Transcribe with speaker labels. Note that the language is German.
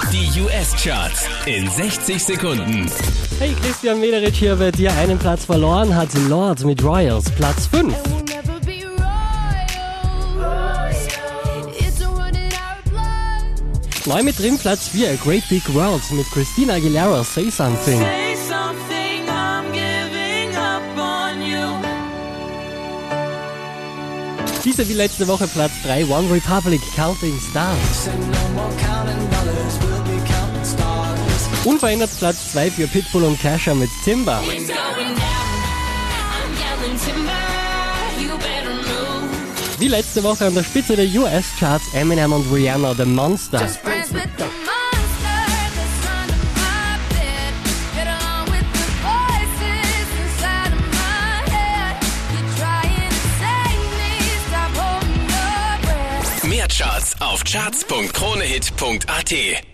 Speaker 1: Die US-Charts in 60 Sekunden.
Speaker 2: Hey, Christian Mederich hier bei dir. Einen Platz verloren hat Lord mit Royals, Platz 5. Neu mit drin, Platz 4, Great Big World mit Christina Aguilera, Say Something. Diese wie letzte Woche Platz 3, One Republic, Counting Stars. Unverändert Platz 2 für Pitbull und Kesha mit Timber. Wie letzte Woche an der Spitze der US-Charts Eminem und Rihanna, The Monster.
Speaker 1: Mehr Charts auf charts.kronehit.at